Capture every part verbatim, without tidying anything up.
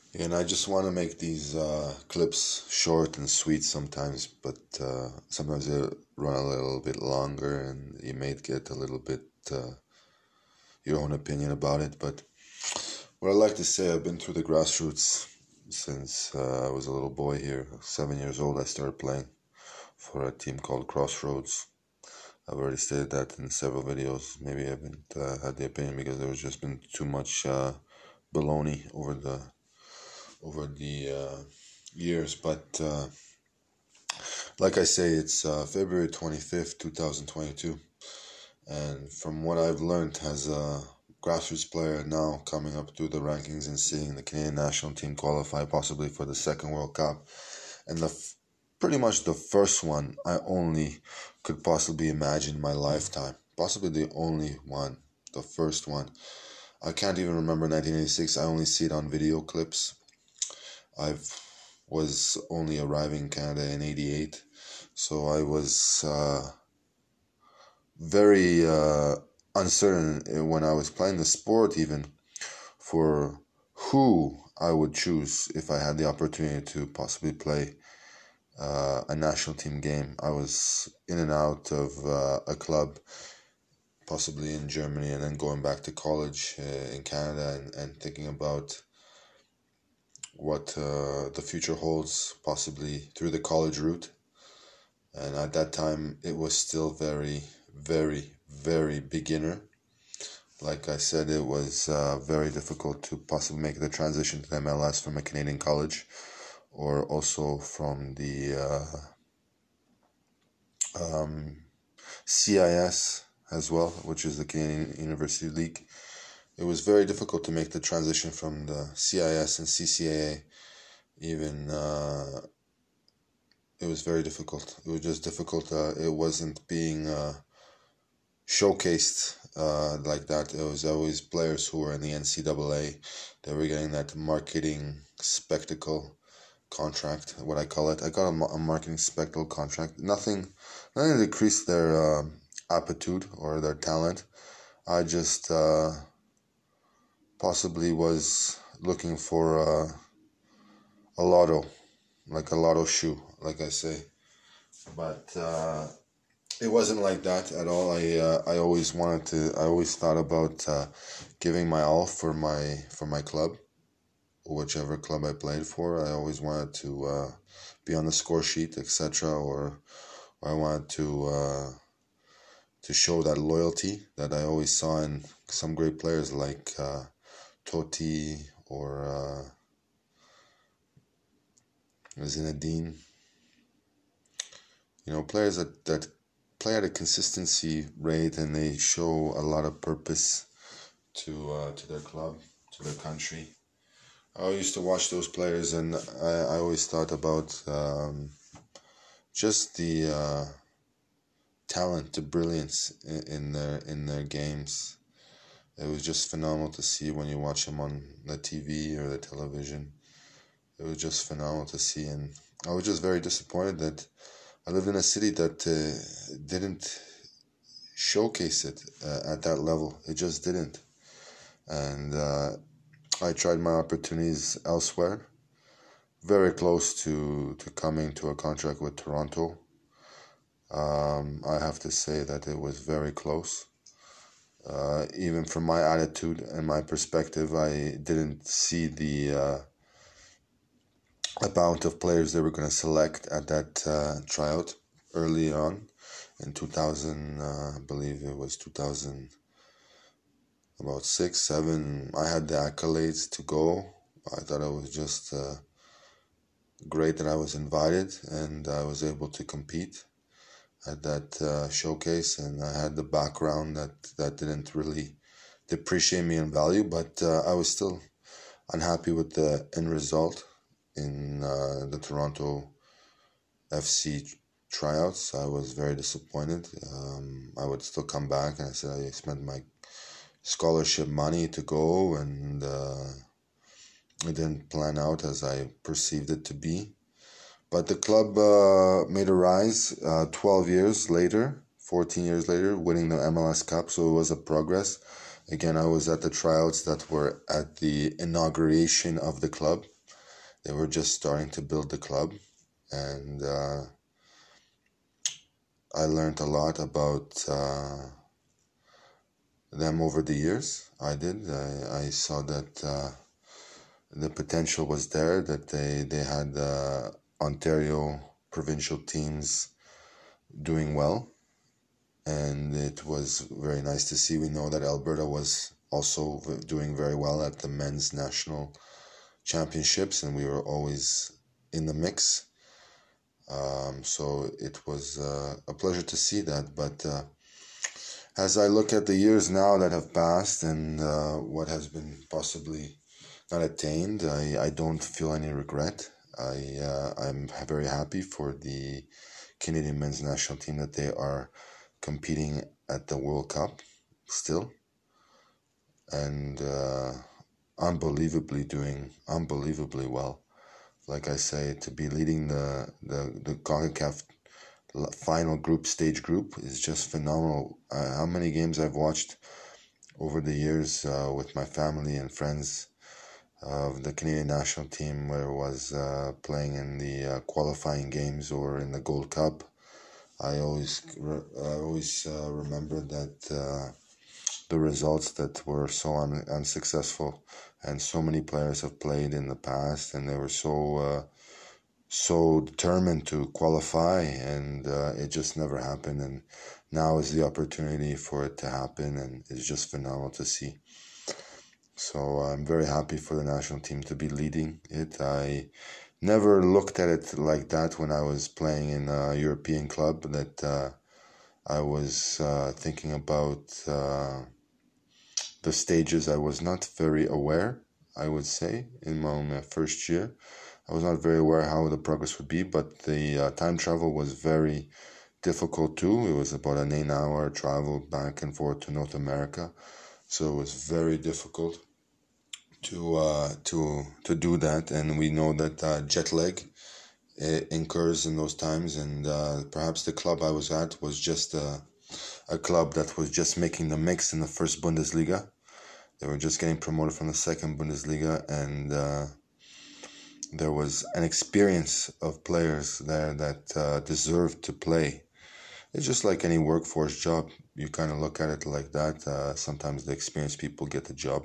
And I just want to make these uh, clips short and sweet sometimes, but uh, sometimes they run a little bit longer and you may get a little bit uh, your own opinion about it. But what I like to say, I've been through the grassroots since uh, I was a little boy here. Seven years old, I started playing for a team called Crossroads. I've already stated that in several videos. Maybe I haven't uh, had the opinion because there was just been too much uh, baloney over the over the uh, years. But uh, like I say, it's uh, February twenty-fifth, two thousand twenty-two. And from what I've learned as a grassroots player now coming up through the rankings and seeing the Canadian national team qualify possibly for the second World Cup, and the f- pretty much the first one I only could possibly imagine in my lifetime. Possibly the only one, the first one. I can't even remember nineteen eighty-six. I only see it on video clips. I was only arriving in Canada in eighty-eight, so I was uh, very uh, uncertain when I was playing the sport, even for who I would choose if I had the opportunity to possibly play uh, a national team game. I was in and out of uh, a club, possibly in Germany, and then going back to college uh, in Canada, and, and thinking about what uh, the future holds, possibly through the college route. And at that time, it was still very, very, very beginner. Like I said, it was uh, very difficult to possibly make the transition to M L S from a Canadian college, or also from the uh, um, C I S as well, which is the Canadian University League. It was very difficult to make the transition from the C I S and C C A A. Even uh, it was very difficult. It was just difficult. Uh, it wasn't being uh, showcased uh, like that. It was always players who were in the N C double A. They were getting that marketing spectacle contract, what I call it. I got a, a marketing spectacle contract. Nothing, nothing to decrease their uh, aptitude or their talent. I just uh, possibly was looking for uh, a lotto, like a lotto shoe, like I say. But uh, it wasn't like that at all. I uh, I always wanted to. I always thought about uh, giving my all for my for my club, whichever club I played for. I always wanted to uh, be on the score sheet, et cetera. Or, or I wanted to uh, to show that loyalty that I always saw in some great players like uh, Totti or uh, Zinedine. You know, players that, that play at a consistency rate and they show a lot of purpose to uh, to their club, to their country. I used to watch those players, and I, I always thought about um, just the uh, talent, the brilliance in, in their in their games. It was just phenomenal to see when you watch them on the T V or the television. It was just phenomenal to see, and I was just very disappointed that I lived in a city that uh, didn't showcase it uh, at that level. It just didn't, and uh, I tried my opportunities elsewhere. Very close to, to coming to a contract with Toronto. Um, I have to say that it was very close. Uh, even from my attitude and my perspective, I didn't see the uh, amount of players they were going to select at that uh, tryout early on in two thousand. Uh, I believe it was two thousand, about six, seven. I had the accolades to go. I thought it was just uh, great that I was invited and I was able to compete at that uh, showcase, and I had the background that that didn't really depreciate me in value, but uh, I was still unhappy with the end result in uh, the Toronto F C tryouts. I was very disappointed. Um, I would still come back, and I said I spent my scholarship money to go, and uh, it didn't plan out as I perceived it to be. But the club uh, made a rise uh, twelve years later, fourteen years later, winning the M L S Cup, so it was a progress. Again, I was at the tryouts that were at the inauguration of the club. They were just starting to build the club, and uh, I learned a lot about uh, them over the years. I did. I, I saw that uh, the potential was there, that they, they had uh, Ontario provincial teams doing well, and it was very nice to see. We know that Alberta was also doing very well at the men's national championships, and we were always in the mix. Um, so it was uh, a pleasure to see that. But uh, as I look at the years now that have passed and uh, what has been possibly not attained, I, I don't feel any regret. I uh, I'm very happy for the Canadian men's national team that they are competing at the World Cup still, and uh, unbelievably doing unbelievably well. Like I say, to be leading the the the CONCACAF final group stage group is just phenomenal. Uh, how many games I've watched over the years uh, with my family and friends of the Canadian national team, where it was uh, playing in the uh, qualifying games or in the Gold Cup. I always I always uh, remember that uh, the results that were so un- unsuccessful, and so many players have played in the past, and they were so uh, so determined to qualify, and uh, it just never happened. And now is the opportunity for it to happen, and it's just phenomenal to see. So I'm very happy for the national team to be leading it. I never looked at it like that when I was playing in a European club, that uh, I was uh, thinking about uh, the stages. I was not very aware, I would say, in my, my first year. I was not very aware how the progress would be, but the uh, time travel was very difficult too. It was about an eight hour travel back and forth to North America. So it was very difficult to uh, to to do that, and we know that uh, jet lag uh, incurs in those times, and uh, perhaps the club I was at was just a, a club that was just making the mix in the first Bundesliga. They were just getting promoted from the second Bundesliga, and uh, there was an experience of players there that uh, deserved to play. It's just like any workforce job. You kind of look at it like that. Uh, sometimes the experienced people get the job,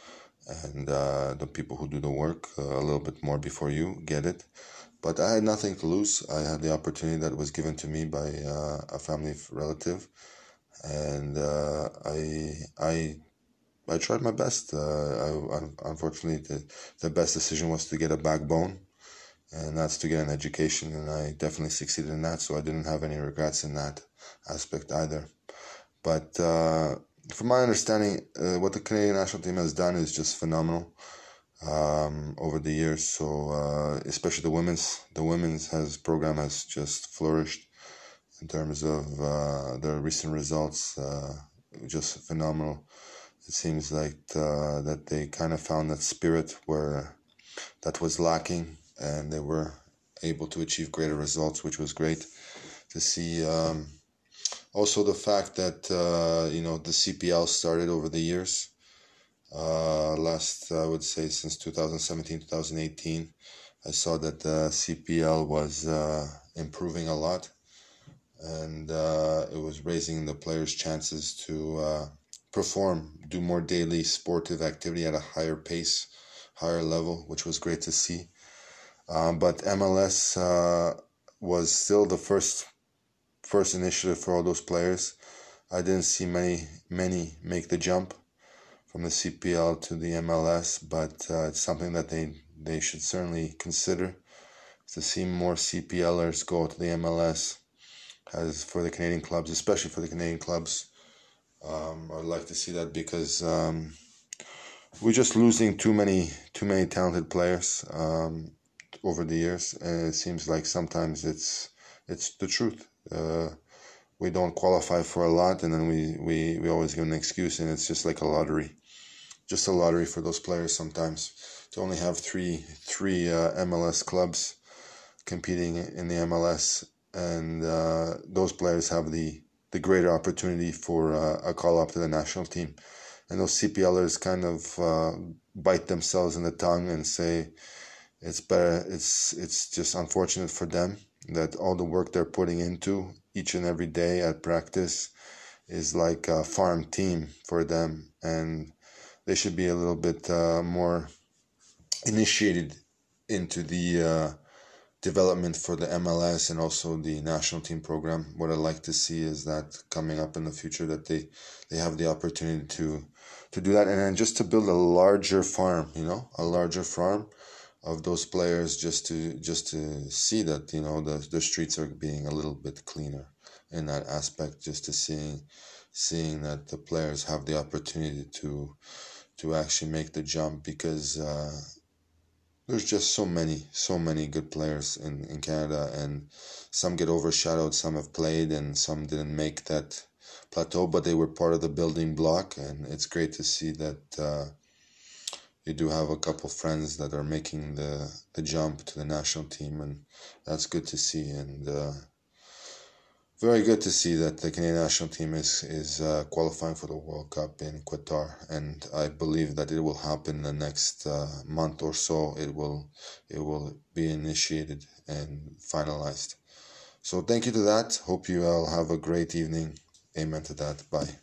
and uh, the people who do the work uh, a little bit more before you get it. But I had nothing to lose. I had the opportunity that was given to me by uh, a family relative, and uh, I I I tried my best. Uh, I, unfortunately, the, the best decision was to get a backbone, and that's to get an education, and I definitely succeeded in that, so I didn't have any regrets in that aspect either. But uh, from my understanding, uh, what the Canadian national team has done is just phenomenal um, over the years. So uh, especially the women's, the women's has program has just flourished in terms of uh, the recent results. Uh, just phenomenal. It seems like uh, that they kind of found that spirit where that was lacking, and they were able to achieve greater results, which was great to see. Um, also, the fact that uh, you know the C P L started over the years. Uh, last, I would say, since two thousand seventeen, two thousand eighteen, I saw that the C P L was uh, improving a lot, and uh, it was raising the players' chances to uh, perform, do more daily sportive activity at a higher pace, higher level, which was great to see. Um, but M L S uh, was still the first first initiative for all those players. I didn't see many many make the jump from the C P L to the M L S, but uh, it's something that they they should certainly consider, to see more CPLers go to the M L S. As for the Canadian clubs, especially for the Canadian clubs, um, I'd like to see that, because um, we're just losing too many too many talented players um, over the years, and it seems like sometimes it's it's the truth. Uh, we don't qualify for a lot, and then we, we, we always give an excuse, and it's just like a lottery, just a lottery for those players sometimes, to only have three three uh, M L S clubs competing in the M L S. And uh, those players have the, the greater opportunity for uh, a call up to the national team. And those CPLers kind of uh, bite themselves in the tongue and say, it's better. It's it's just unfortunate for them that all the work they're putting into each and every day at practice is like a farm team for them, and they should be a little bit uh, more initiated into the uh, development for the M L S and also the national team program. What I'd like to see is that coming up in the future, that they they have the opportunity to to do that, and then just to build a larger farm, you know, a larger farm of those players, just to just to see that, you know, the the streets are being a little bit cleaner in that aspect, just to seeing seeing that the players have the opportunity to to actually make the jump, because uh, there's just so many, so many good players in, in Canada, and some get overshadowed, some have played, and some didn't make that plateau, but they were part of the building block, and it's great to see that uh, you do have a couple friends that are making the, the jump to the national team, and that's good to see, and uh, very good to see that the Canadian national team is is uh, qualifying for the World Cup in Qatar, and I believe that it will happen in the next uh, month or so. It will it will be initiated and finalized. So thank you to that. Hope you all have a great evening. Amen to that. Bye.